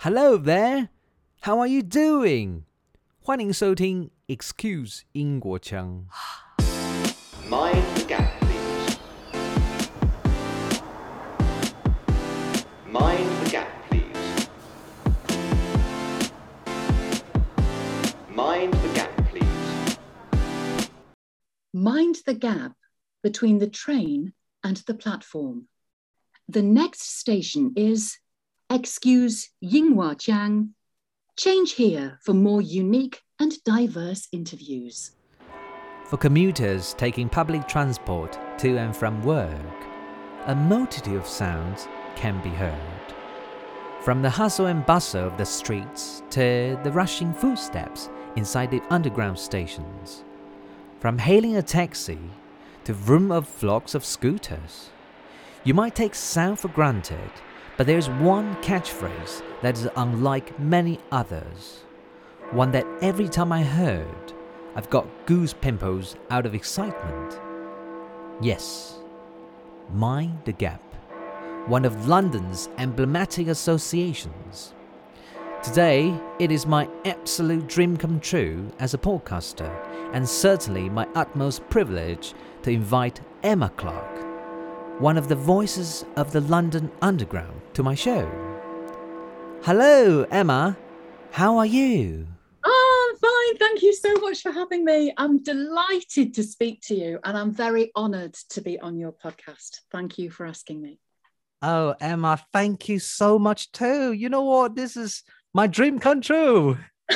Hello there, how are you doing? 欢迎收听 Excuse 英国腔。 Mind the gap, please. Mind the gap, please. Mind the gap, please. Mind the gap between the train and the platform. The next station is Excuse Yinghua-jiang. Change here for more unique and diverse interviews. For commuters taking public transport to and from work, a multitude of sounds can be heard. From the hustle and bustle of the streets to the rushing footsteps inside the underground stations. From hailing a taxi to vroom of flocks of scooters. You might take sound for granted, but there's one catchphrase that is unlike many others. One that every time I heard, I've got goose pimples out of excitement. Yes, Mind the Gap, one of London's emblematic associations. Today, it is my absolute dream come true as a podcaster, and certainly my utmost privilege to invite Emma Clark, one of the voices of the London Underground, to my show. Hello, Emma. How are you? Oh, I'm fine. Thank you so much for having me. I'm delighted to speak to you, and I'm very honoured to be on your podcast. Thank you for asking me. Oh, Emma, thank you so much too. You know what? This is my dream come true.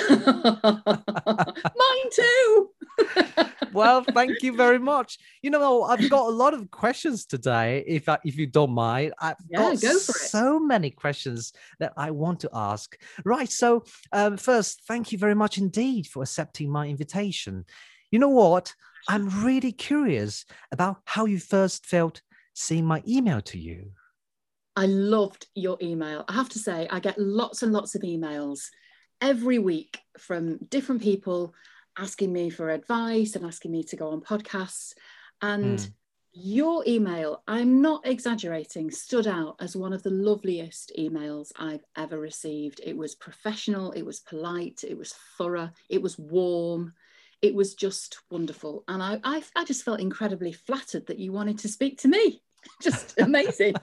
Mine too. Well, thank you very much. You know, I've got a lot of questions today, if you don't mind. I've got go for it. So many questions that I want to ask. Right, so first, thank you very much indeed for accepting my invitation. You know what? I'm really curious about how you first felt seeing my email to you. I loved your email. I have to say, I get lots and lots of emails every week from different people asking me for advice and asking me to go on podcasts. And your email, I'm not exaggerating, stood out as one of the loveliest emails I've ever received. It was professional, it was polite, it was thorough, it was warm. It was just wonderful. And I just felt incredibly flattered that you wanted to speak to me. Just amazing.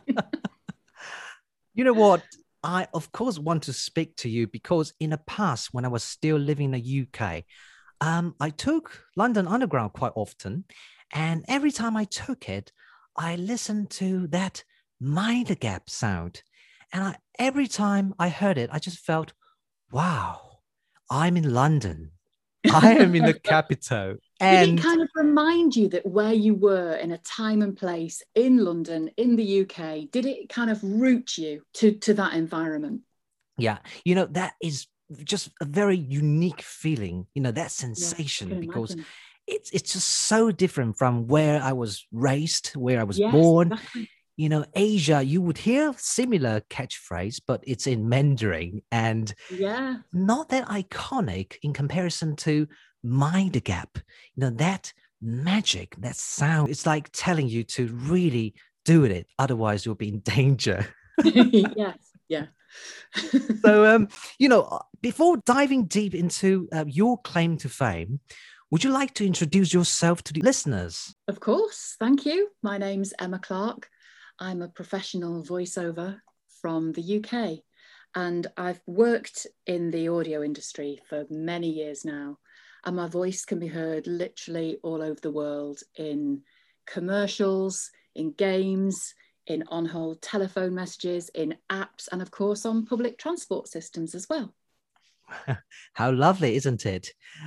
You know what? I, of course, want to speak to you because in the past, when I was still living in the UK, I took London Underground quite often. And every time I took it, I listened to that Mind the Gap sound. And every time I heard it, I just felt, wow, I'm in London. I am in the capital. Did it kind of remind you that where you were in a time and place in London, in the UK, did it kind of root you to that environment? Yeah, you know, that is just a very unique feeling, you know, that sensation, yeah, because it's just so different from where I was raised, where I was yes, born. Exactly. You know, Asia, you would hear similar catchphrase, but it's in Mandarin and not that iconic in comparison to Mind the Gap. You know, that magic, that sound, it's like telling you to really do it. Otherwise, you'll be in danger. Yes, yeah. So, you know, before diving deep into your claim to fame, would you like to introduce yourself to the listeners? Of course. Thank you. My name's Emma Clark. I'm a professional voiceover from the UK, and I've worked in the audio industry for many years now. And my voice can be heard literally all over the world in commercials, in games, in on-hold telephone messages, in apps, and of course on public transport systems as well. How lovely, isn't it?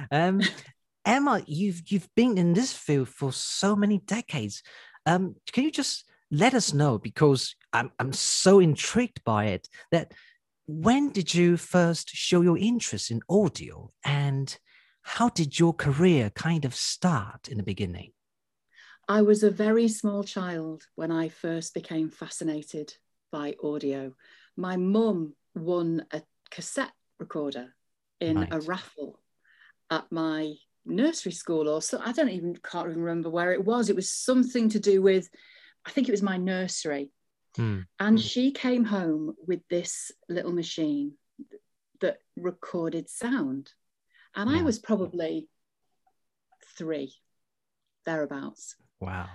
Emma, you've been in this field for so many decades. Can you just let us know, because I'm so intrigued by it, that when did you first show your interest in audio, and how did your career kind of start in the beginning? I was a very small child when I first became fascinated by audio. My mum won a cassette recorder in a raffle at my nursery school, or so. Can't even remember where it was. It was something to do with, I think it was my nursery. And she came home with this little machine, that recorded sound. And I Yeah. was probably 3, thereabouts. Wow.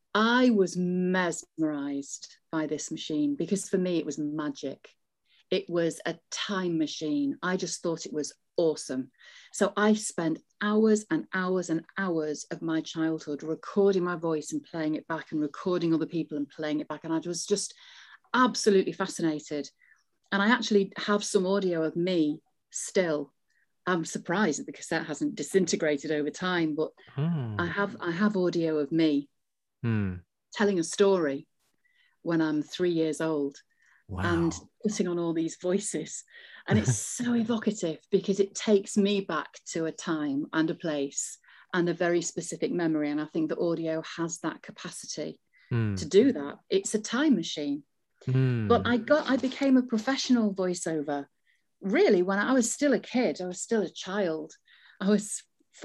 I was mesmerized by this machine because for me, it was magic. It was a time machine. I just thought it was awesome. So I spent hours and hours and hours of my childhood recording my voice and playing it back, and recording other people and playing it back. And I was just absolutely fascinated. And I actually have some audio of me still. I'm surprised that the cassette hasn't disintegrated over time, but I have audio of me telling a story when I'm 3 years old. Wow. And putting on all these voices. And it's so evocative because it takes me back to a time and a place and a very specific memory. And I think that audio has that capacity to do that. It's a time machine. But I became a professional voiceover really when I was still a kid. I was still a child. I was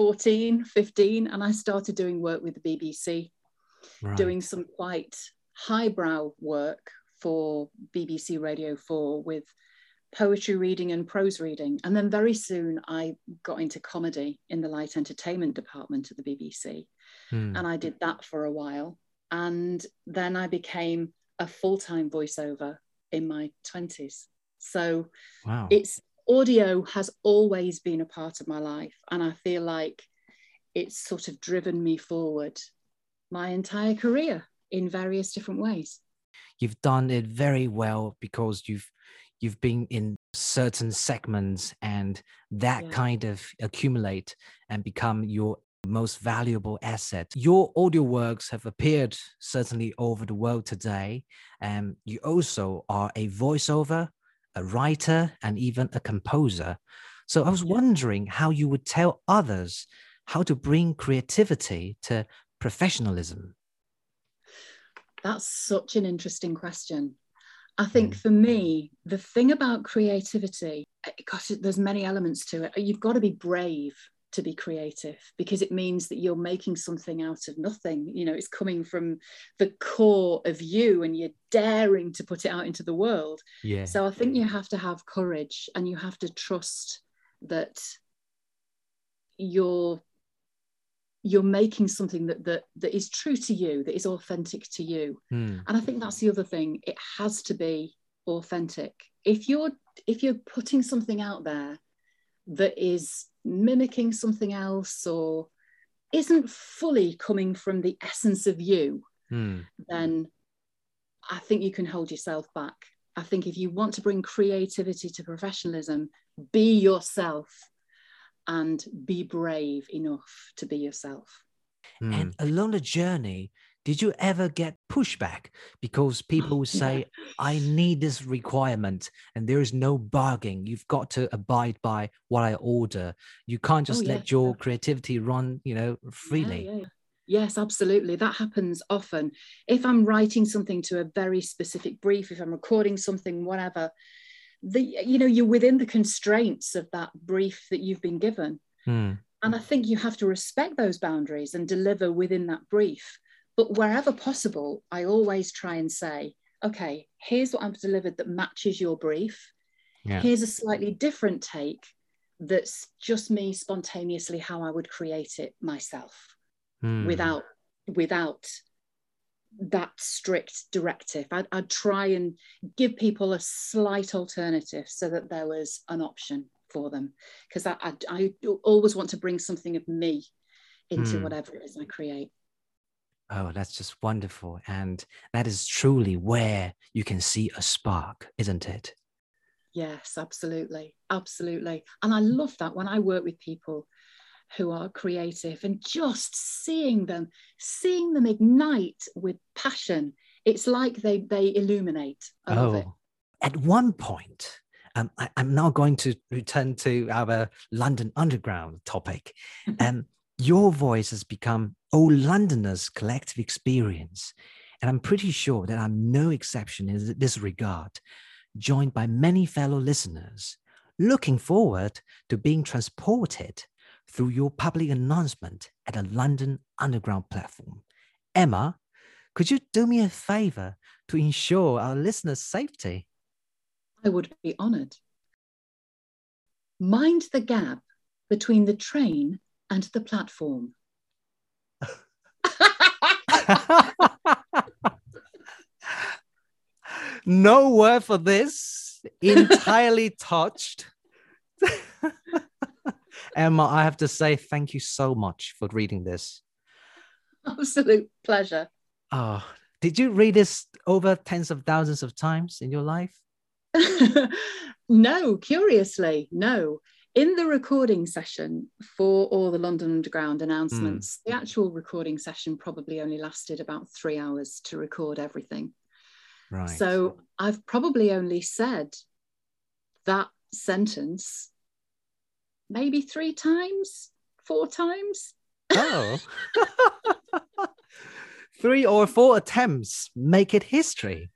14, 15, and I started doing work with the BBC, doing some quite highbrow work for BBC Radio 4 with poetry reading and prose reading. And then very soon I got into comedy in the light entertainment department at the BBC. And I did that for a while. And then I became a full-time voiceover in my 20s. So it's audio has always been a part of my life. And I feel like it's sort of driven me forward my entire career in various different ways. You've done it very well because you've been in certain segments, and that kind of accumulate and become your most valuable asset. Your audio works have appeared certainly over the world today, and you also are a voiceover, a writer, and even a composer. So I was wondering how you would tell others how to bring creativity to professionalism. That's such an interesting question. I think for me, the thing about creativity, gosh, there's many elements to it. You've got to be brave to be creative because it means that you're making something out of nothing. You know, it's coming from the core of you and you're daring to put it out into the world. Yeah. So I think you have to have courage and you have to trust that you're making something that is true to you, that is authentic to you. And I think that's the other thing. It has to be authentic. If you're putting something out there that is mimicking something else or isn't fully coming from the essence of you, then I think you can hold yourself back. I think if you want to bring creativity to professionalism, be yourself. And be brave enough to be yourself. And along the journey, did you ever get pushback? Because people would say, I need this requirement and there is no bargaining. You've got to abide by what I order. You can't just let your creativity run, freely. Yes, absolutely. That happens often. If I'm writing something to a very specific brief, if I'm recording something, whatever, you're within the constraints of that brief that you've been given. And I think you have to respect those boundaries and deliver within that brief. But wherever possible, I always try and say, okay, here's what I've delivered that matches your brief. Here's a slightly different take that's just me spontaneously how I would create it myself without that strict directive. I'd try and give people a slight alternative so that there was an option for them, because I always want to bring something of me into whatever it is I create. Oh, that's just wonderful. And that is truly where you can see a spark, isn't it? Yes, absolutely. Absolutely. And I love that when I work with people who are creative and just seeing them ignite with passion. It's like they illuminate. I love it. At one point, I'm now going to return to our London Underground topic. Your voice has become all Londoners' collective experience. And I'm pretty sure that I'm no exception in this regard, joined by many fellow listeners, looking forward to being transported through your public announcement at a London Underground platform. Emma, could you do me a favor to ensure our listeners' safety? I would be honoured. mind the gap between the train and the platform. No word for this. Entirely touched. Emma, I have to say thank you so much for reading this. Absolute pleasure. Oh, did you read this over tens of thousands of times in your life? No, curiously, no. In the recording session for all the London Underground announcements, the actual recording session probably only lasted about 3 hours to record everything. Right. So I've probably only said that sentence maybe 3 times, 4 times. Oh. 3 or 4 attempts make it history.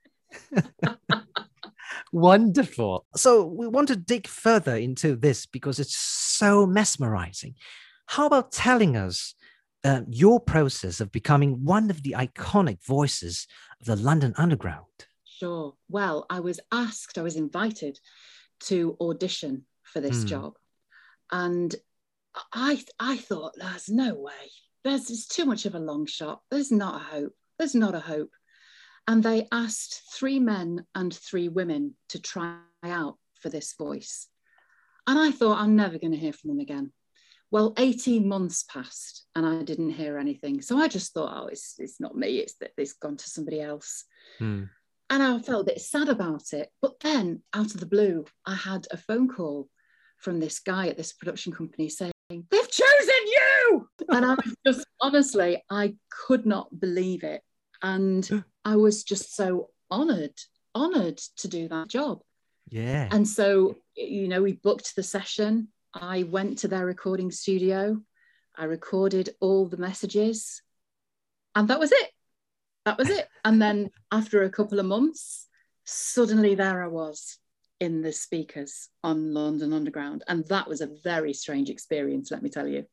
Wonderful. So we want to dig further into this because it's so mesmerizing. How about telling us your process of becoming one of the iconic voices of the London Underground? Sure. Well, I was invited to audition for this job. And I thought, there's no way. It's too much of a long shot. There's not a hope. There's not a hope. And they asked 3 men and 3 women to try out for this voice. And I thought, I'm never going to hear from them again. Well, 18 months passed and I didn't hear anything. So I just thought, oh, it's not me. It's gone to somebody else. And I felt a bit sad about it. But then out of the blue, I had a phone call from this guy at this production company saying, they've chosen you. And I was just, honestly, I could not believe it. And I was just so honored to do that job. Yeah. And so, we booked the session. I went to their recording studio. I recorded all the messages. And that was it. That was it. And then after a couple of months, suddenly there I was in the speakers on London Underground. And that was a very strange experience, let me tell you.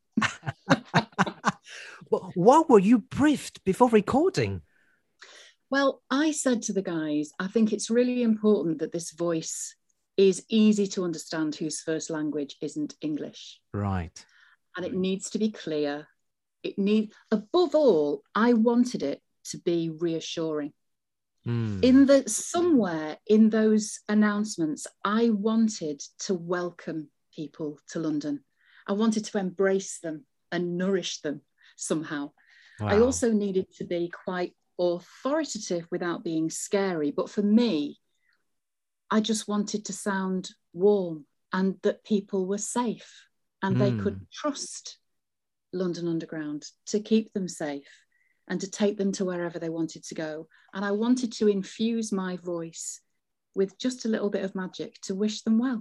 What were you briefed before recording? Well, I said to the guys, I think it's really important that this voice is easy to understand whose first language isn't English. Right. And it needs to be clear. Above all, I wanted it to be reassuring. Somewhere in those announcements, I wanted to welcome people to London. I wanted to embrace them and nourish them somehow. Wow. I also needed to be quite authoritative without being scary. But for me, I just wanted to sound warm and that people were safe and they could trust London Underground to keep them safe and to take them to wherever they wanted to go. And I wanted to infuse my voice with just a little bit of magic to wish them well.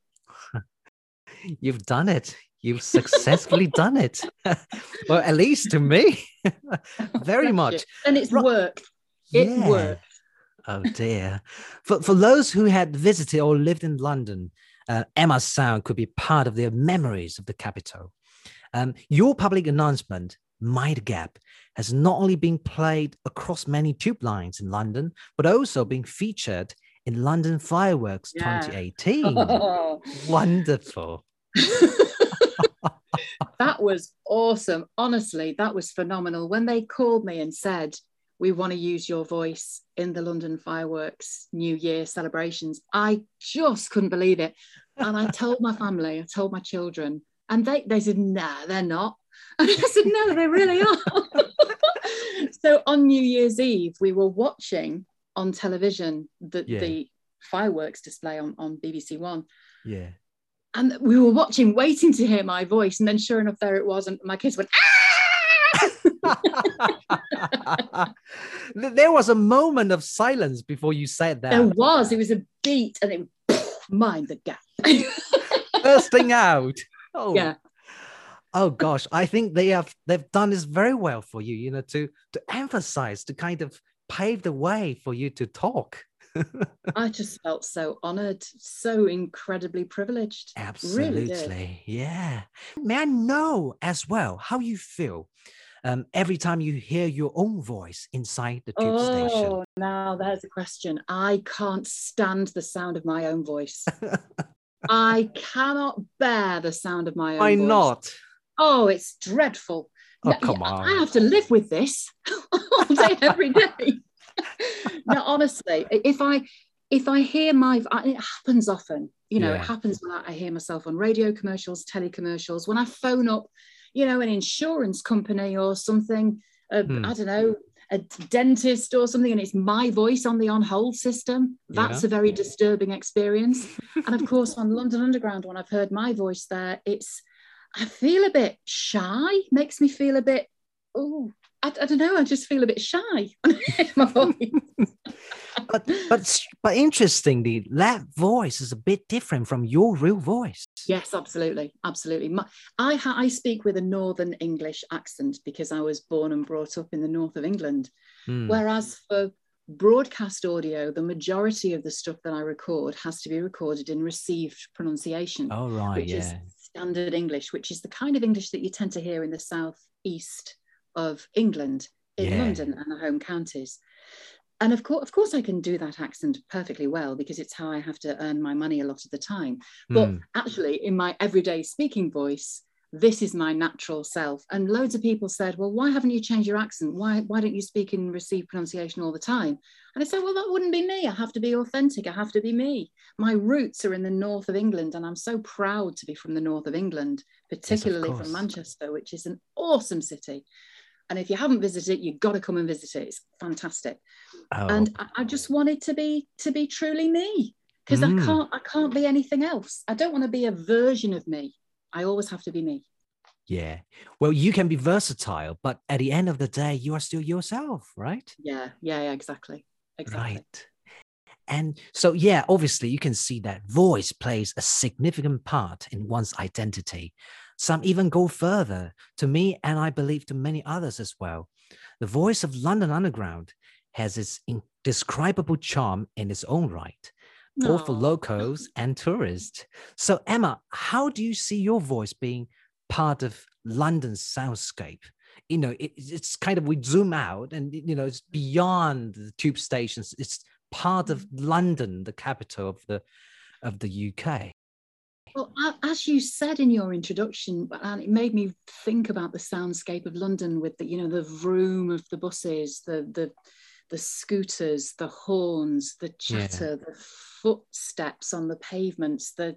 You've done it. You've successfully done it. Well, at least to me. Very much. And it's worked. It worked. Oh dear. For those who had visited or lived in London, Emma's sound could be part of their memories of the capital. Your public announcement, Mind the Gap, has not only been played across many tube lines in London, but also been featured in London Fireworks 2018. Oh. Wonderful. That was awesome. Honestly, that was phenomenal. When they called me and said, we want to use your voice in the London Fireworks New Year celebrations, I just couldn't believe it. And I told my family, I told my children, and they said, nah, they're not. And I said, no, they really are. So on New Year's Eve, we were watching on television the fireworks display on BBC One. Yeah. And we were watching, waiting to hear my voice. And then sure enough, there it was. And my kids went, ah! There was a moment of silence before you said that. There was. It was a beat and it mind the gap. Bursting out. Oh. Yeah. Oh gosh, I think they've done this very well for you, to emphasize, to kind of pave the way for you to talk. I just felt so honored, so incredibly privileged. Absolutely. Really, yeah. May I know as well how you feel every time you hear your own voice inside the tube station? Oh, now there's a question. I can't stand the sound of my own voice. I cannot bear the sound of my Why own voice. not? Oh, it's dreadful. Oh, No, come I on. have to live with this all day, every day. No, honestly, if I hear it happens often. You know, it Yeah. happens when I hear myself on radio commercials, telecommercials, when I phone up, you know, an insurance company or something, I don't know, a dentist or something, and it's my voice on the on-hold system. That's a very disturbing experience. And of course, on London Underground, when I've heard my voice there, I feel a bit shy, makes me feel a bit, I don't know, I just feel a bit shy when I hear my voice. but interestingly, that voice is a bit different from your real voice. Yes, absolutely. I speak with a Northern English accent because I was born and brought up in the north of England. Whereas for broadcast audio, the majority of the stuff that I record has to be recorded in received pronunciation, which is standard English, which is the kind of English that you tend to hear in the southeast of England, in London and the home counties. And of course, I can do that accent perfectly well because it's how I have to earn my money a lot of the time. But actually, in my everyday speaking voice, this is my natural self. And loads of people said, well, why haven't you changed your accent? Why don't you speak in received pronunciation all the time? And I said, well, that wouldn't be me. I have to be authentic. I have to be me. My roots are in the north of England, and I'm so proud to be from the north of England, particularly from Manchester, which is an awesome city. And if you haven't visited it, you've got to come and visit it. It's fantastic. And I just wanted to be truly me, because I can't be anything else. I don't want to be a version of me. I always have to be me. Yeah. Well, you can be versatile, but at the end of the day, you are still yourself, right? Yeah, exactly. Right. And so, obviously you can see that voice plays a significant part in one's identity. Some even go further. To me, and I believe to many others as well, the voice of London Underground has its indescribable charm in its own right, both for locals and tourists. So, Emma, how do you see your voice being part of London's soundscape? You know, it's kind of, we zoom out and, you know, it's beyond the tube stations. It's part of London, the capital of the UK. Well, as you said in your introduction, and it made me think about the soundscape of London with the, you know, the vroom of the buses, the scooters, the horns, the chatter, the footsteps on the pavements, the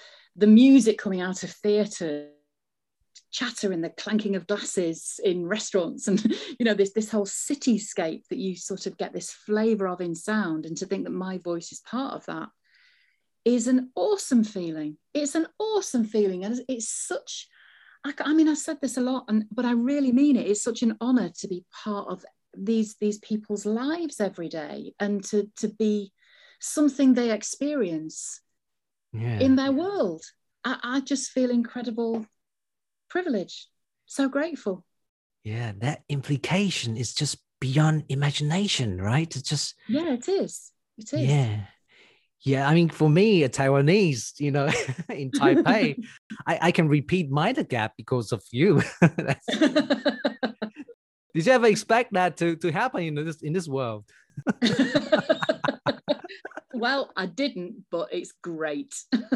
music coming out of theatre, chatter and the clanking of glasses in restaurants, and you know, this whole cityscape that you sort of get this flavour of in sound. And to think that my voice is part of that is an awesome feeling. It's an awesome feeling, and it's such, I mean, I said this a lot, but I really mean it. It's such an honour to be part of these people's lives every day, and to be something they experience in their world. I just feel incredible privilege, so grateful. Yeah, that implication is just beyond imagination, right? It's just it is. Yeah, I mean, for me, a Taiwanese, you know, in Taipei, I can repeat Mind the Gap because of you. Did you ever expect that to happen in this world? Well, I didn't, but it's great.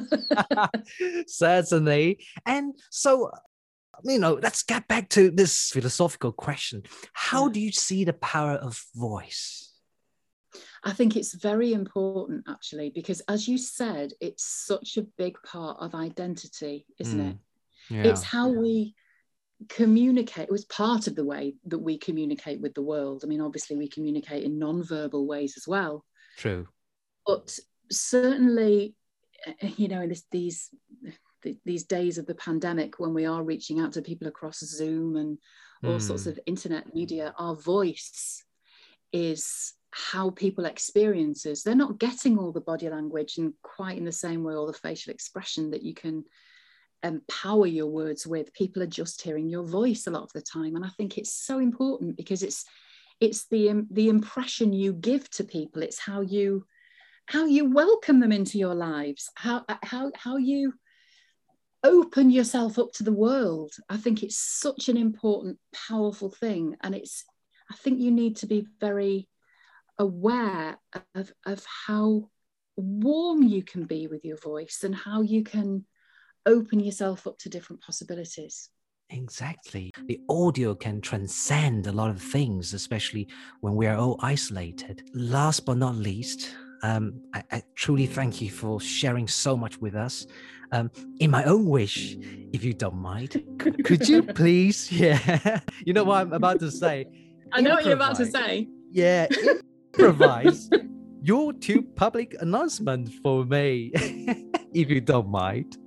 Certainly. And so, you know, let's get back to this philosophical question. How do you see the power of voice? I think it's very important, actually, because as you said, it's such a big part of identity, isn't it? Yeah. It's how we communicate. It was part of the way that we communicate with the world. I mean, obviously we communicate in non-verbal ways as well. True. But certainly, you know, in these days of the pandemic, when we are reaching out to people across Zoom and all sorts of internet media, our voice is how people experience us. They're not getting all the body language and quite in the same way, all the facial expression that you can empower your words with. People are just hearing your voice a lot of the time. And I think it's so important because it's the impression you give to people. It's how you welcome them into your lives, how you open yourself up to the world. I think it's such an important, powerful thing. And I think you need to be very aware of how warm you can be with your voice and how you can open yourself up to different possibilities. Exactly. The audio can transcend a lot of things, especially when we are all isolated. Last but not least, I truly thank you for sharing so much with us. In my own wish, if you don't mind, could you please, you know what I'm about to say? I know what you're about to say. Yeah, improvise your 2 public announcements for me, if you don't mind.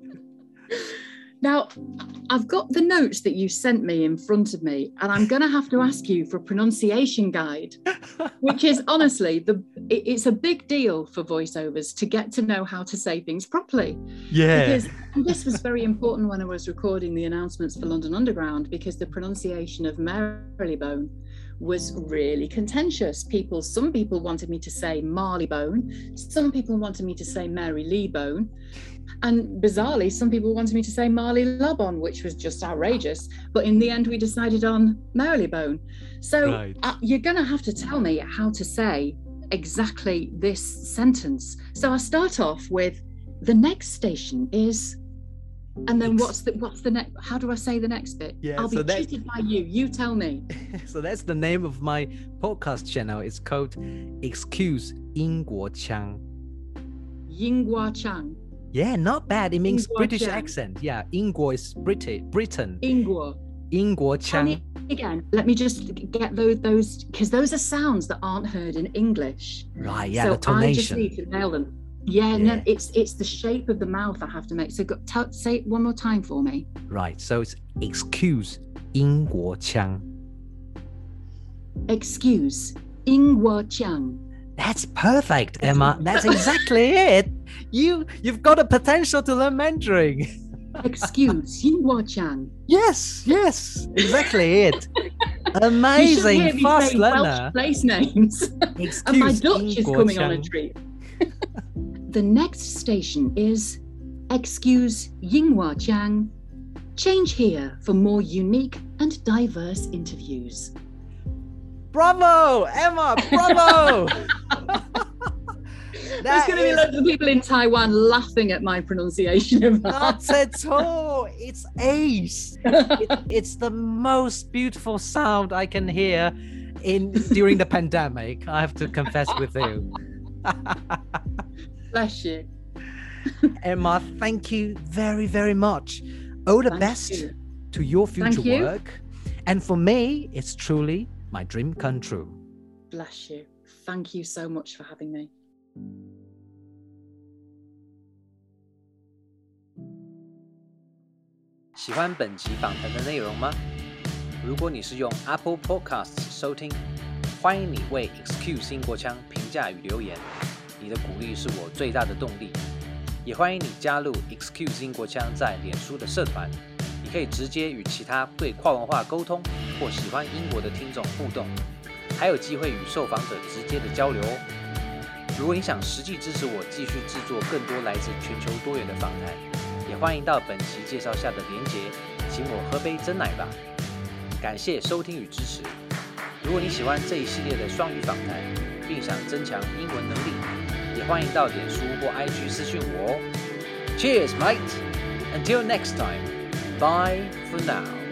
Now, I've got the notes that you sent me in front of me, and I'm going to have to ask you for a pronunciation guide, which is honestly, it's a big deal for voiceovers to get to know how to say things properly. Yeah. Because this was very important when I was recording the announcements for London Underground, because the pronunciation of Marylebone was really contentious. Some people wanted me to say Marleybone, some people wanted me to say Marylebone. And bizarrely, some people wanted me to say Marleylebone, which was just outrageous. But in the end, we decided on Marylebone. So you're going to have to tell me how to say exactly this sentence. So I start off with, the next station is, and then what's the next? How do I say the next bit? Yeah, I'll be tutored by you. You tell me. So that's the name of my podcast channel. It's called Excuse 英国腔. 英国腔. Yeah, not bad. It means 英国腔. British accent. Yeah, 英国 is Britain. 英国. 英国腔. Again, let me just get those, because those are sounds that aren't heard in English. Right, yeah, so the tonation. I just need to nail them. Yeah, no, it's the shape of the mouth I have to make. So say it one more time for me. Right, so it's excuse 英国腔. Excuse 英国腔. That's perfect, Emma. That's exactly it. You've got a potential to learn Mandarin. Excuse 英国腔. Yes, exactly it. Amazing, fast learner. Welsh place names. And my Dutch is coming on a treat. The next station is Excuse 英国腔. Change here for more unique and diverse interviews. Bravo, Emma, bravo! There's going to be loads of people in Taiwan laughing at my pronunciation of that. Not at all. It's ace. It's the most beautiful sound I can hear during the pandemic. I have to confess with you. Bless you. Emma, thank you very, very much. All the best to your future work. And for me, it's truly my dream come true. Bless you. Thank you so much for having me. 喜歡本集訪談的內容嗎？如果你是用 Apple Podcasts 收聽，歡迎你為 Excuse 英國腔評價與留言，你的鼓勵是我最大的動力。也歡迎你加入 Excuse 英國腔在臉書的社團，你可以直接與其他對跨文化溝通或喜歡英國的聽眾互動，還有機會與受訪者直接的交流哦。如果你想實際支持我繼續製作更多來自全球多元的訪談，也歡迎到本期介紹下的連結，請我喝杯珍奶吧。感謝收聽與支持。如果你喜歡這一系列的雙語訪談，並想增強英文能力，也歡迎到臉書或 IG 私訊我哦。Cheers, mate! Until next time, bye for now.